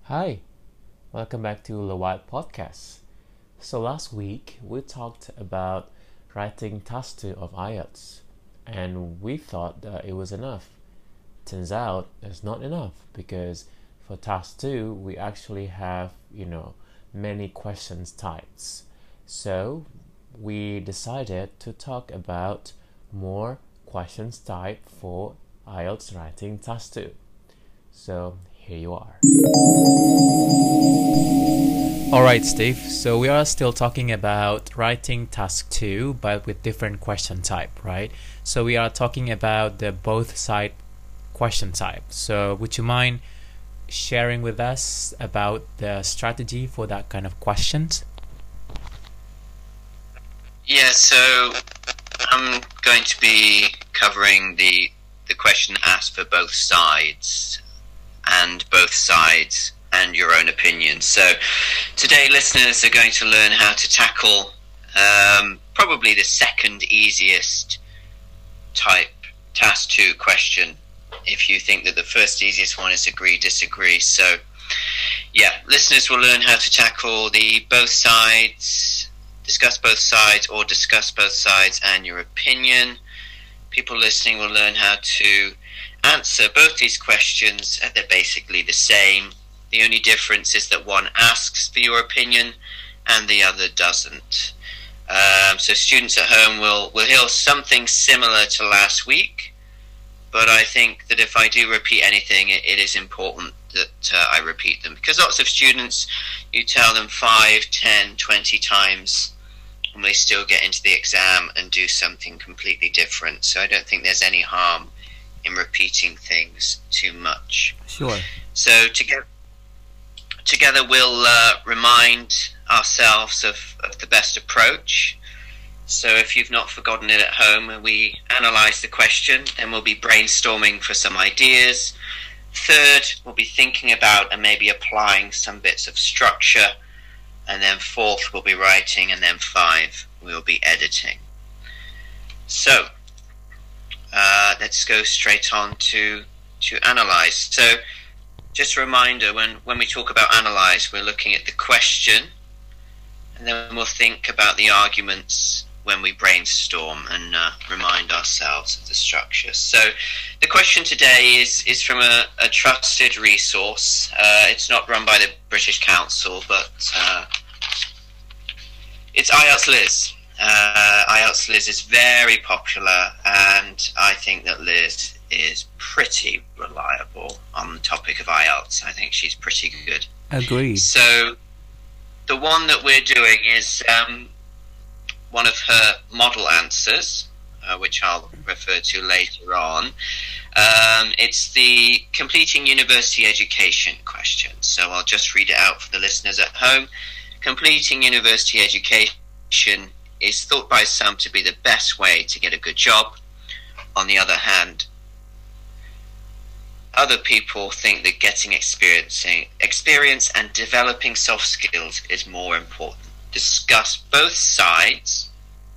Hi, welcome back to the Wild Podcast. So last week we talked about writing task 2 of IELTS and we thought that it was enough. Turns out it's not enough because for task 2 we actually have, many questions types. So we decided to talk about more questions type for IELTS writing task 2. So here you are. Alright, Steve, so we are still talking about writing task 2 but with different question type, right? So we are talking about the both side question type. So would you mind sharing with us about the strategy for that kind of questions? Yeah, so I'm going to be covering the question asked for both sides and your own opinion. So today listeners are going to learn how to tackle probably the second easiest type task 2 question, if you think that the first easiest one is agree, disagree. So yeah, listeners will learn how to tackle the both sides, discuss both sides and your opinion. People listening will learn how to answer both these questions. They're basically the same. The only difference is that one asks for your opinion and the other doesn't. So students at home will hear something similar to last week, but I think that if I do repeat anything, it is important that I repeat them, because lots of students, you tell them 5, 10, 20 times and they still get into the exam and do something completely different. So I don't think there's any harm in repeating things too much. Sure. So together we'll remind ourselves of the best approach. So if you've not forgotten it at home, we analyse the question, then we'll be brainstorming for some ideas. Third, we'll be thinking about and maybe applying some bits of structure. And then fourth, we'll be writing, and then 5, we'll be editing. So let's go straight on to analyse. So just a reminder, when we talk about analyse, we're looking at the question, and then we'll think about the arguments when we brainstorm and remind ourselves of the structure. So the question today is from a trusted resource. It's not run by the British Council, but it's IELTS Liz. IELTS Liz is very popular, and I think that Liz is pretty reliable on the topic of IELTS. I think she's pretty good. Agreed. So the one that we're doing is one of her model answers, which I'll refer to later on. It's the completing university education question. So I'll just read it out for the listeners at home. Completing university education is thought by some to be the best way to get a good job. On the other hand, other people think that getting experience and developing soft skills is more important. Discuss both sides,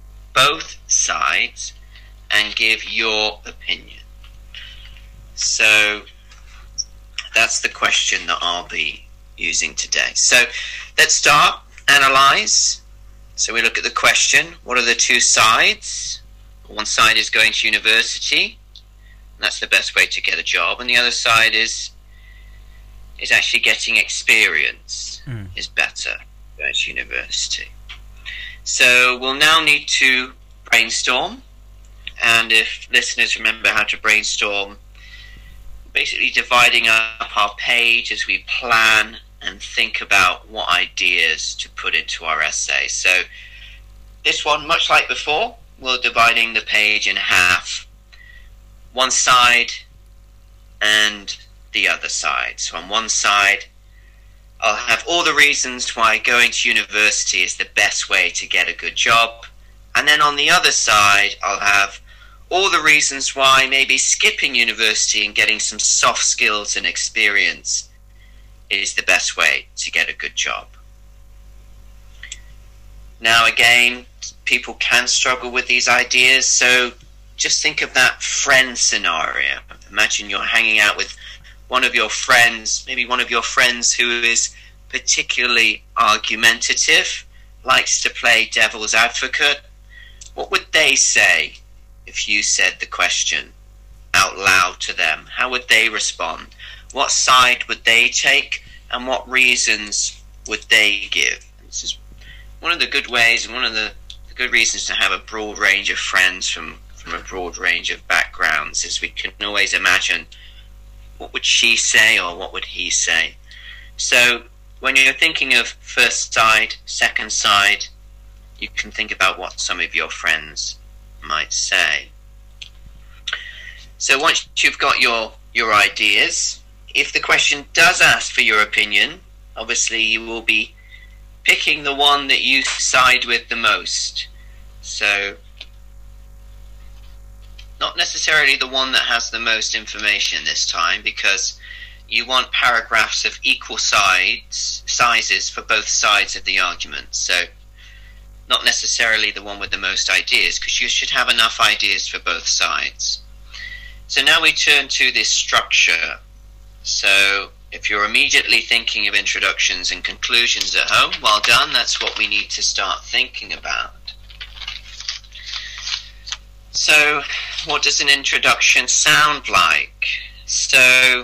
and give your opinion. So that's the question that I'll be using today. So let's start, analyze. So we look at the question. What are the two sides? One side is going to university. That's the best way to get a job. And the other side is actually getting experience is better going to university. So we'll now need to brainstorm. And if listeners remember how to brainstorm, basically dividing up our page as we plan and think about what ideas to put into our essay. So this one, much like before, we're dividing the page in half. One side and the other side. So on one side, I'll have all the reasons why going to university is the best way to get a good job. And then on the other side, I'll have all the reasons why maybe skipping university and getting some soft skills and experience is the best way to get a good job. Now again, people can struggle with these ideas, so just think of that friend scenario. Imagine you're hanging out with one of your friends, maybe one of your friends who is particularly argumentative, likes to play devil's advocate, what would they say if you said the question out loud to them? How would they respond? What side would they take, and what reasons would they give? And this is one of the good ways and one of the good reasons to have a broad range of friends from a broad range of backgrounds, is we can always imagine what would she say or what would he say. So when you're thinking of first side, second side, you can think about what some of your friends might say. So once you've got your ideas, if the question does ask for your opinion, obviously you will be picking the one that you side with the most. So not necessarily the one that has the most information this time, because you want paragraphs of equal sizes for both sides of the argument. So not necessarily the one with the most ideas, because you should have enough ideas for both sides. So now we turn to this structure. So if you're immediately thinking of introductions and conclusions at home, well done, that's what we need to start thinking about. So what does an introduction sound like? So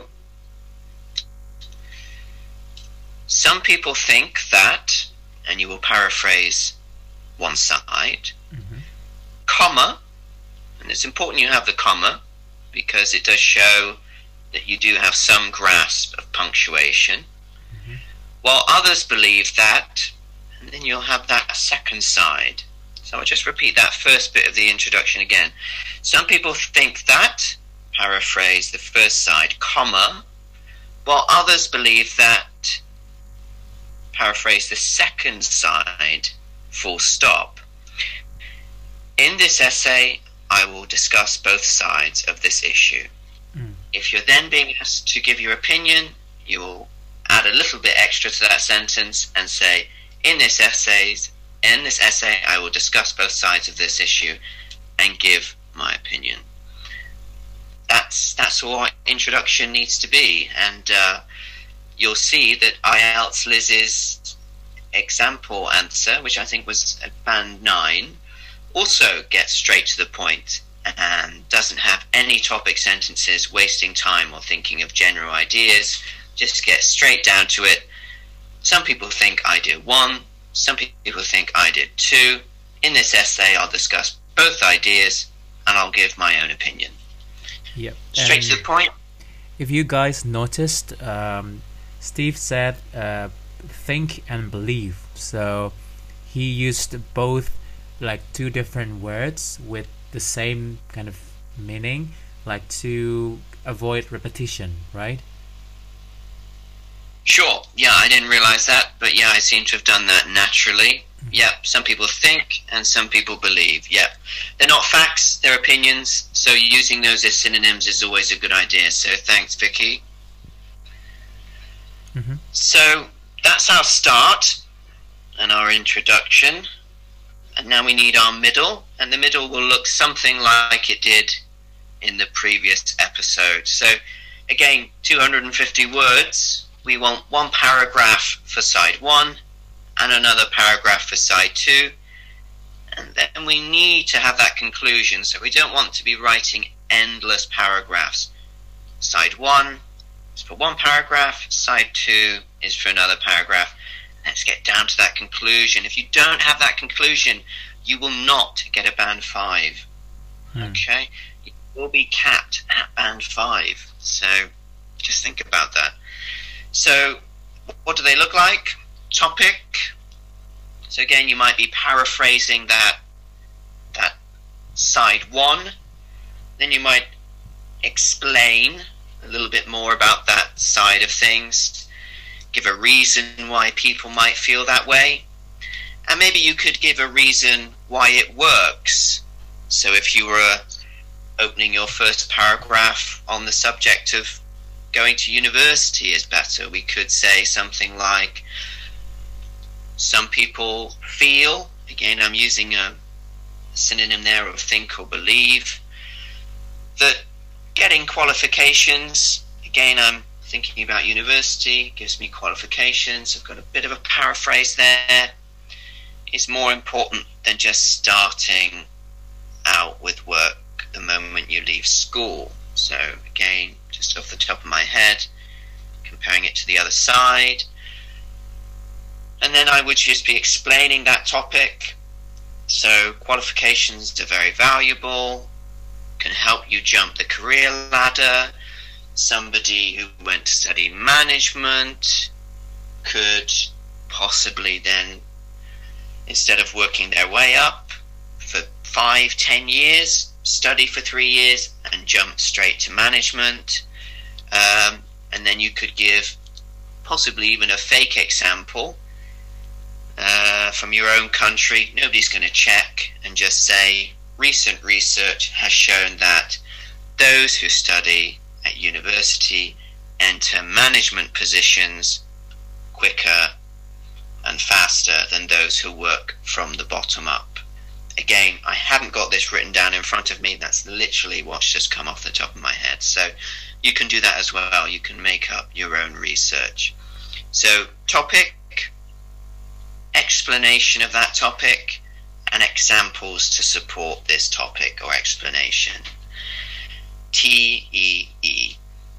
some people think that, and you will paraphrase one side, comma, and it's important you have the comma because it does show that you do have some grasp of punctuation, while others believe that, and then you'll have that second side. So I'll just repeat that first bit of the introduction again. Some people think that, paraphrase the first side, comma, while others believe that, paraphrase the second side, full stop. In this essay, I will discuss both sides of this issue. If you're then being asked to give your opinion, you will add a little bit extra to that sentence and say, in this essay, I will discuss both sides of this issue and give my opinion. That's what introduction needs to be. And you'll see that IELTS Liz's example answer, which I think was at band 9, also gets straight to the point and doesn't have any topic sentences, wasting time or thinking of general ideas, just gets straight down to it. Some people think I did 1, some people think I did 2. In this essay, I'll discuss both ideas and I'll give my own opinion. Yep. Straight to the point. If you guys noticed, Steve said think and believe. So he used both, like, 2 different words with the same kind of meaning, like to avoid repetition, right? Sure, yeah, I didn't realize that, but yeah, I seem to have done that naturally. Yeah, some people think and some people believe. Yeah, they're not facts, they're opinions, so using those as synonyms is always a good idea. So thanks, Vicky. So that's our start and our introduction, and now we need our middle, and the middle will look something like it did in the previous episode. So again, 250 words. We want 1 paragraph for side 1 and another paragraph for side 2, and then we need to have that conclusion. So we don't want to be writing endless paragraphs. Side 1 is for 1 paragraph, side 2 is for another paragraph. Let's get down to that conclusion. If you don't have that conclusion, you will not get a band 5. Okay? You will be capped at band 5. So just think about that. So what do they look like? Topic. So again, you might be paraphrasing that side 1. Then you might explain a little bit more about that side of things. Give a reason why people might feel that way. And maybe you could give a reason why it works. So if you were opening your first paragraph on the subject of going to university is better, we could say something like, some people feel, again I'm using a synonym there of think or believe, that getting qualifications, again I'm thinking about university, gives me qualifications. I've got a bit of a paraphrase there. Is more important than just starting out with work the moment you leave school. So again, just off the top of my head, comparing it to the other side. And then I would just be explaining that topic. So qualifications are very valuable, can help you jump the career ladder. Somebody who went to study management could possibly then, instead of working their way up for 5-10 years, study for 3 years and jump straight to management. And then you could give possibly even a fake example from your own country. Nobody's going to check, and just say, recent research has shown that those who study at university enter management positions quicker and faster than those who work from the bottom up. Again, I haven't got this written down in front of me. That's literally what's just come off the top of my head. So you can do that as well. You can make up your own research. So topic, explanation of that topic, and examples to support this topic or explanation. TEE.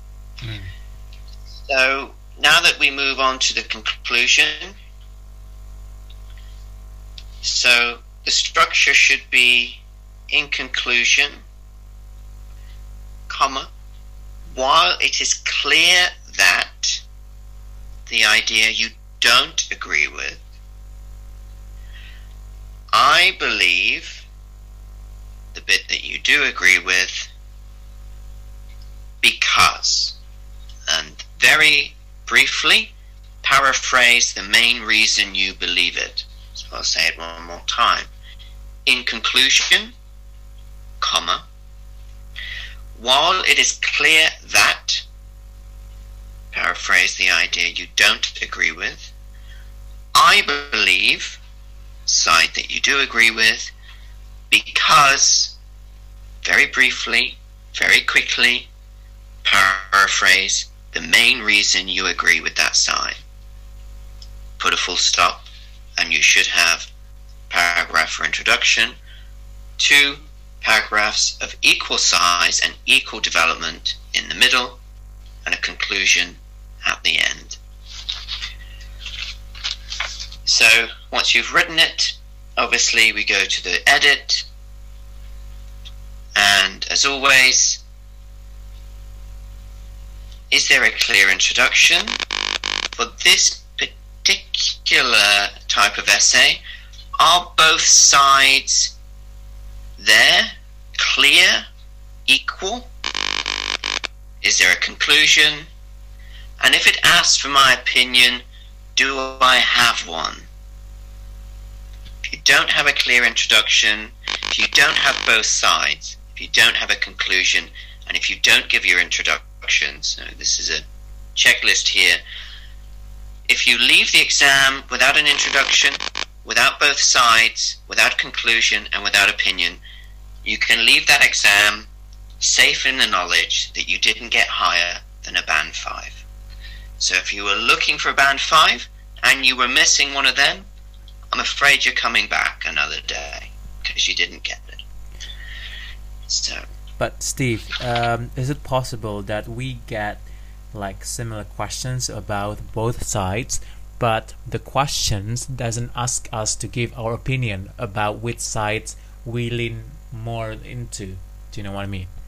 So now that we move on to the conclusion, so the structure should be, in conclusion, comma, while it is clear that the idea you don't agree with, I believe the bit that you do agree with because, and very briefly paraphrase the main reason you believe it. So I'll say it one more time. In conclusion, comma, while it is clear that, paraphrase the idea you don't agree with, I believe, side that you do agree with, because, very briefly, very quickly, paraphrase the main reason you agree with that side. Put a full stop, and you should have paragraph for introduction, 2 paragraphs of equal size and equal development in the middle, and a conclusion at the end. So once you've written it, obviously we go to the edit, and as always, is there a clear introduction? For this particular type of essay, are both sides there, clear, equal? Is there a conclusion? And if it asks for my opinion, do I have one? If you don't have a clear introduction, if you don't have both sides, if you don't have a conclusion, and if you don't give your introduction, so this is a checklist here, if you leave the exam without an introduction, without both sides, without conclusion, and without opinion, you can leave that exam safe in the knowledge that you didn't get higher than a band 5. So if you were looking for a band 5 and you were missing one of them, I'm afraid you're coming back another day because you didn't get it. So, but Steve, is it possible that we get like similar questions about both sides, but the questions doesn't ask us to give our opinion about which sides we lean more into? Do you know what I mean?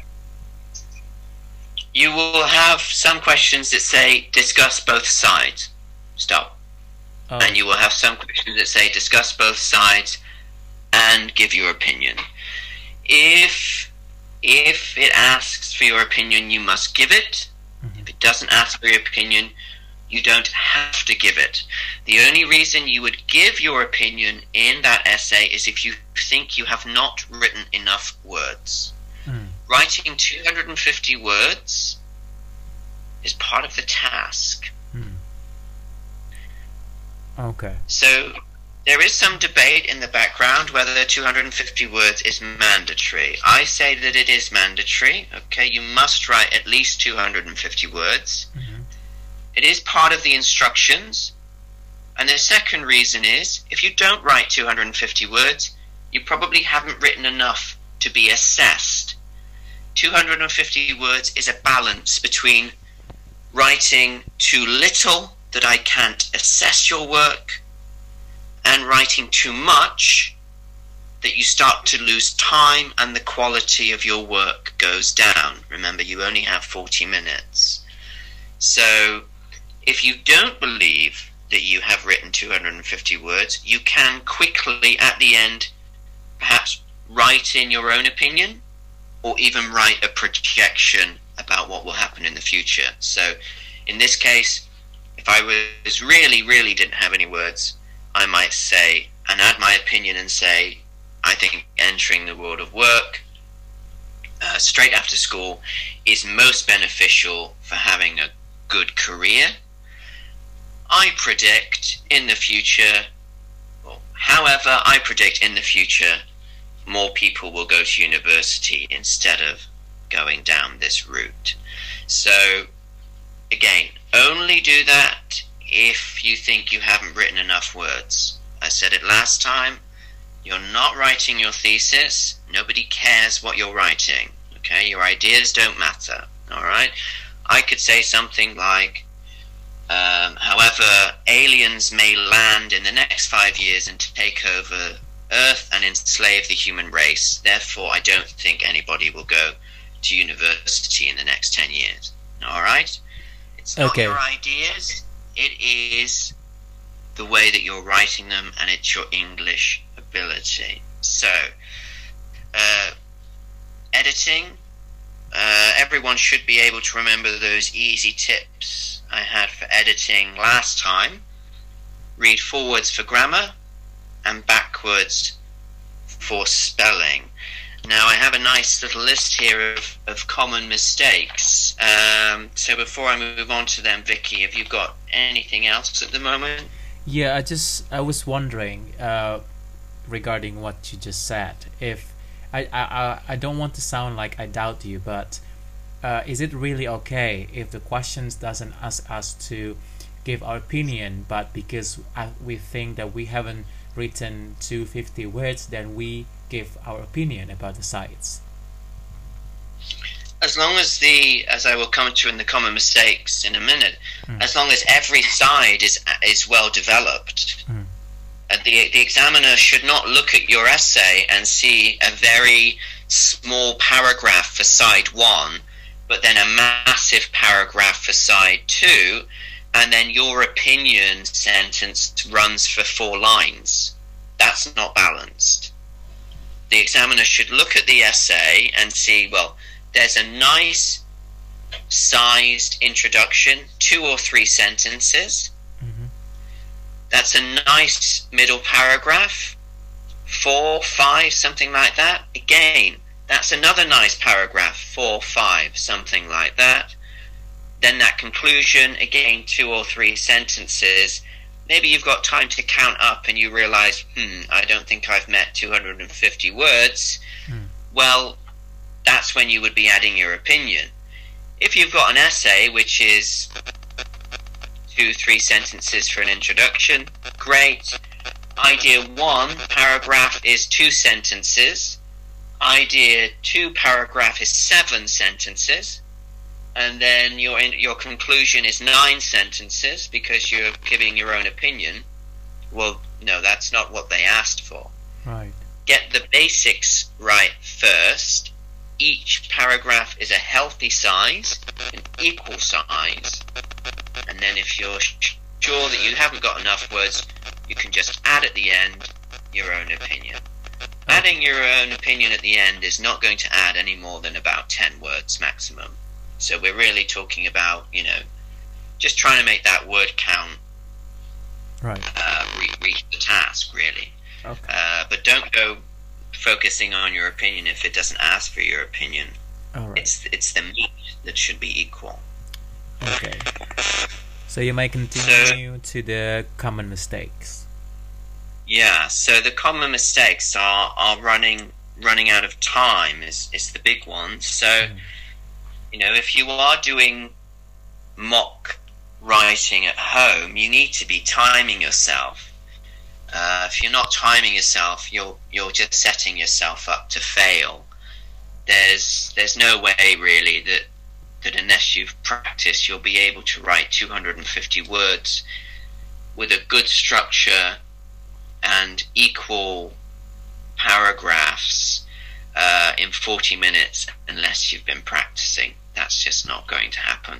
You will have some questions that say discuss both sides. Stop. Oh. And you will have some questions that say discuss both sides and give your opinion. If it asks for your opinion, you must give it. Mm-hmm. If it doesn't ask for your opinion, you don't have to give it. The only reason you would give your opinion in that essay is if you think you have not written enough words. Writing 250 words is part of the task. Okay. So There is some debate in the background whether 250 words is mandatory. I say that it is mandatory. Okay, you must write at least 250 words. Mm-hmm. It is part of the instructions. And the second reason is, if you don't write 250 words, you probably haven't written enough to be assessed. 250 words is a balance between writing too little that I can't assess your work, and writing too much that you start to lose time and the quality of your work goes down. Remember, you only have 40 minutes. So if you don't believe that you have written 250 words, you can quickly at the end perhaps write in your own opinion, or even write a projection about what will happen in the future. So in this case, if I was really didn't have any words, I might say and add my opinion and say, I think entering the world of work straight after school is most beneficial for having a good career. I predict in the future, however, I predict in the future more people will go to university instead of going down this route. So again, only do that if you think you haven't written enough words. I said it last time, you're not writing your thesis. Nobody cares what you're writing. Okay, your ideas don't matter. All right, I could say something like, however, aliens may land in the next 5 years and take over Earth and enslave the human race. Therefore, I don't think anybody will go to university in the next 10 years. All right? It's not your ideas. It is the way that you're writing them, and it's your English ability. So, editing. Everyone should be able to remember those easy tips I had for editing last time. Read forwards for grammar and backwards for spelling. Now I have a nice little list here of common mistakes. So before I move on to them, Vicky, have you got anything else at the moment? Yeah, I was wondering regarding what you just said. If I don't want to sound like I doubt you, but is it really okay if the questions doesn't ask us to give our opinion, but because we think that we haven't written 250 words, then we give our opinion about the sites? As long as as I will come to in the common mistakes in a minute, as long as every side is well developed, the examiner should not look at your essay and see a very small paragraph for side 1, but then a massive paragraph for side 2, and then your opinion sentence runs for 4 lines. That's not balanced. The examiner should look at the essay and see, well, there's a nice sized introduction, 2 or 3 sentences. That's a nice middle paragraph, 4, 5, something like that. Again, that's another nice paragraph, 4, 5, something like that. Then that conclusion, again, 2 or 3 sentences. Maybe you've got time to count up and you realize, I don't think I've met 250 words. Well, that's when you would be adding your opinion. If you've got an essay which is 2, 3 sentences for an introduction, great. Idea 1 paragraph is 2 sentences. Idea 2 paragraph is 7 sentences. And then your conclusion is 9 sentences because you're giving your own opinion. Well, no, that's not what they asked for. Right. Get the basics right first. Each paragraph is a healthy size, an equal size. And then if you're sure that you haven't got enough words, you can just add at the end your own opinion. Adding your own opinion at the end is not going to add any more than about 10 words maximum. So we're really talking about, just trying to make that word count. Right. Reach the task, really. Okay. But don't go focusing on your opinion if it doesn't ask for your opinion. All right. It's the meat that should be equal. Okay. So you may continue to the common mistakes. Yeah, so the common mistakes are running out of time is the big one. So, if you are doing mock writing at home, you need to be timing yourself. If you're not timing yourself, you're just setting yourself up to fail. There's no way really that unless you've practiced, you'll be able to write 250 words with a good structure and equal paragraphs in 40 minutes unless you've been practicing. That's just not going to happen.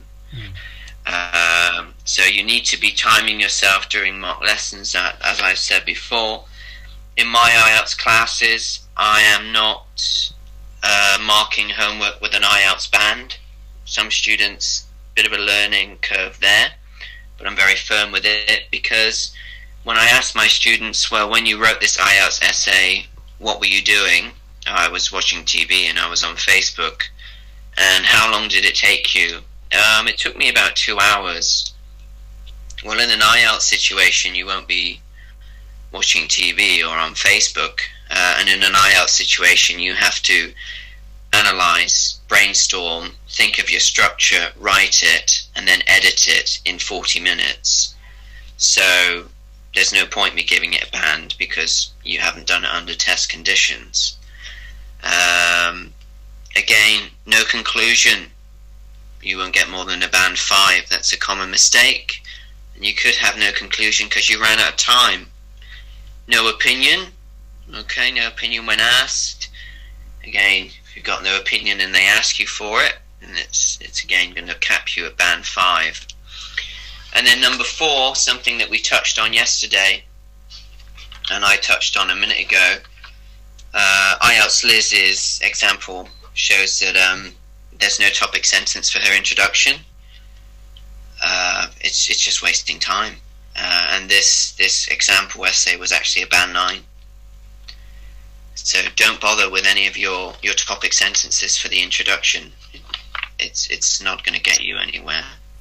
So you need to be timing yourself during mock lessons. As I said before, in my IELTS classes, I am not marking homework with an IELTS band. Some students, bit of a learning curve there, but I'm very firm with it, because when I ask my students, well, when you wrote this IELTS essay, what were you doing? I was watching TV and I was on Facebook. And how long did it take you? It took me about 2 hours. Well, in an IELTS situation, you won't be watching TV or on Facebook. And in an IELTS situation, you have to analyze, brainstorm, think of your structure, write it, and then edit it in 40 minutes. So there's no point me giving it a band because you haven't done it under test conditions. Again, no conclusion. You won't get more than a band 5. That's a common mistake. And you could have no conclusion because you ran out of time. No opinion. Okay, no opinion when asked. Again, if you've got no opinion and they ask you for it, then it's again going to cap you at band 5. And then number 4, something that we touched on yesterday, and I touched on a minute ago, IELTS Liz's example shows that there's no topic sentence for her introduction. It's just wasting time. And this example essay was actually a band 9. So don't bother with any of your topic sentences for the introduction. It's not going to get you anywhere.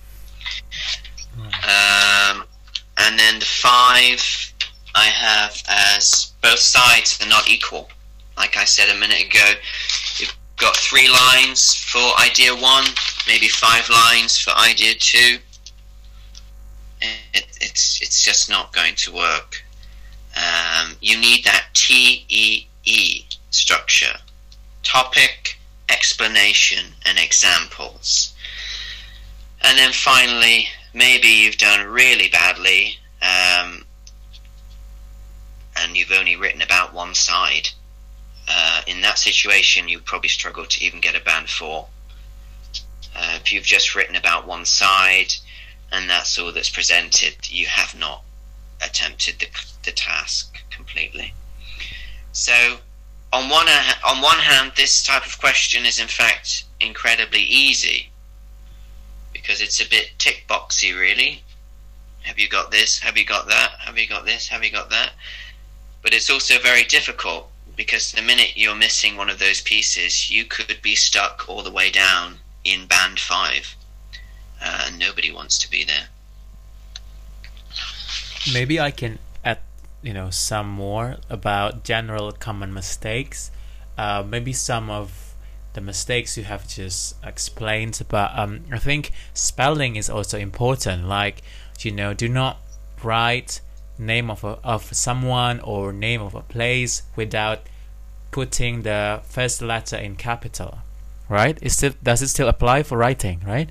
And then the 5 I have as both sides are not equal. Like I said a minute ago, you've got 3 lines for idea 1, maybe 5 lines for idea 2. It's just not going to work. You need that TEE structure: topic, explanation, and examples. And then finally, maybe you've done really badly and you've only written about one side. In that situation, you probably struggle to even get a band 4. If you've just written about one side and that's all that's presented, you have not attempted the task completely. So on one hand, this type of question is in fact incredibly easy, because it's a bit tick boxy really. Have you got this? Have you got that? Have you got this? Have you got that? But it's also very difficult, because the minute you're missing one of those pieces, you could be stuck all the way down in band 5. Nobody wants to be there. Maybe I can add, some more about general common mistakes. Maybe some of the mistakes you have just explained, but I think spelling is also important. Like, do not write name of someone or name of a place without putting the first letter in capital, right? Does it still apply for writing, right?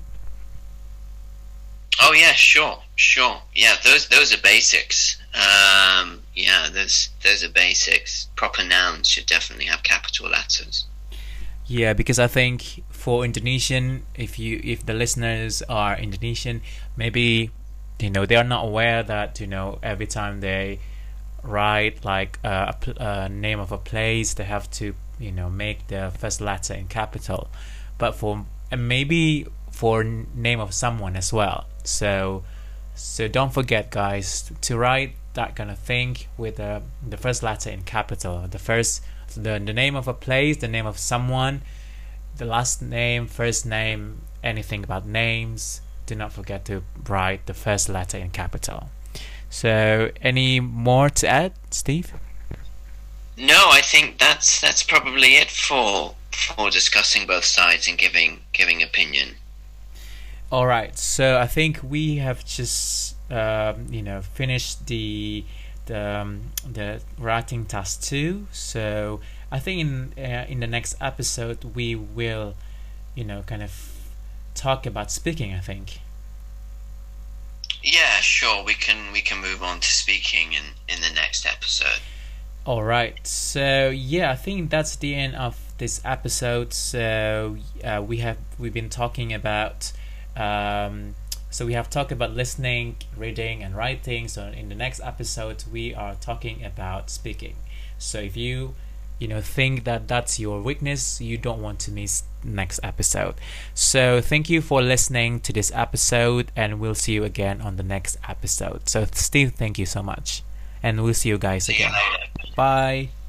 Oh yeah, sure. Yeah, those are basics. Those are basics. Proper nouns should definitely have capital letters. Yeah, because I think for Indonesian, if the listeners are Indonesian, maybe they are not aware that every time they write like a name of a place, they have to make the first letter in capital. But maybe for name of someone as well. So don't forget, guys, to write that kind of thing with the first letter in capital. The name of a place, the name of someone, the last name, first name, anything about names. Do not forget to write the first letter in capital. So, any more to add, Steve? No, I think that's probably it for discussing both sides and giving opinion. All right. So I think we have just finished the writing task 2. So I think in the next episode we will kind of talk about speaking, I think. Yeah, sure. We can move on to speaking in the next episode. All right. So yeah, I think that's the end of this episode. So we've been talking about so we have talked about listening, reading, and writing. So in the next episode we are talking about speaking. So if you think that that's your weakness, you don't want to miss next episode. So thank you for listening to this episode, and we'll see you again on the next episode. So Steve, thank you so much, and we'll see you guys again. See you later. Bye.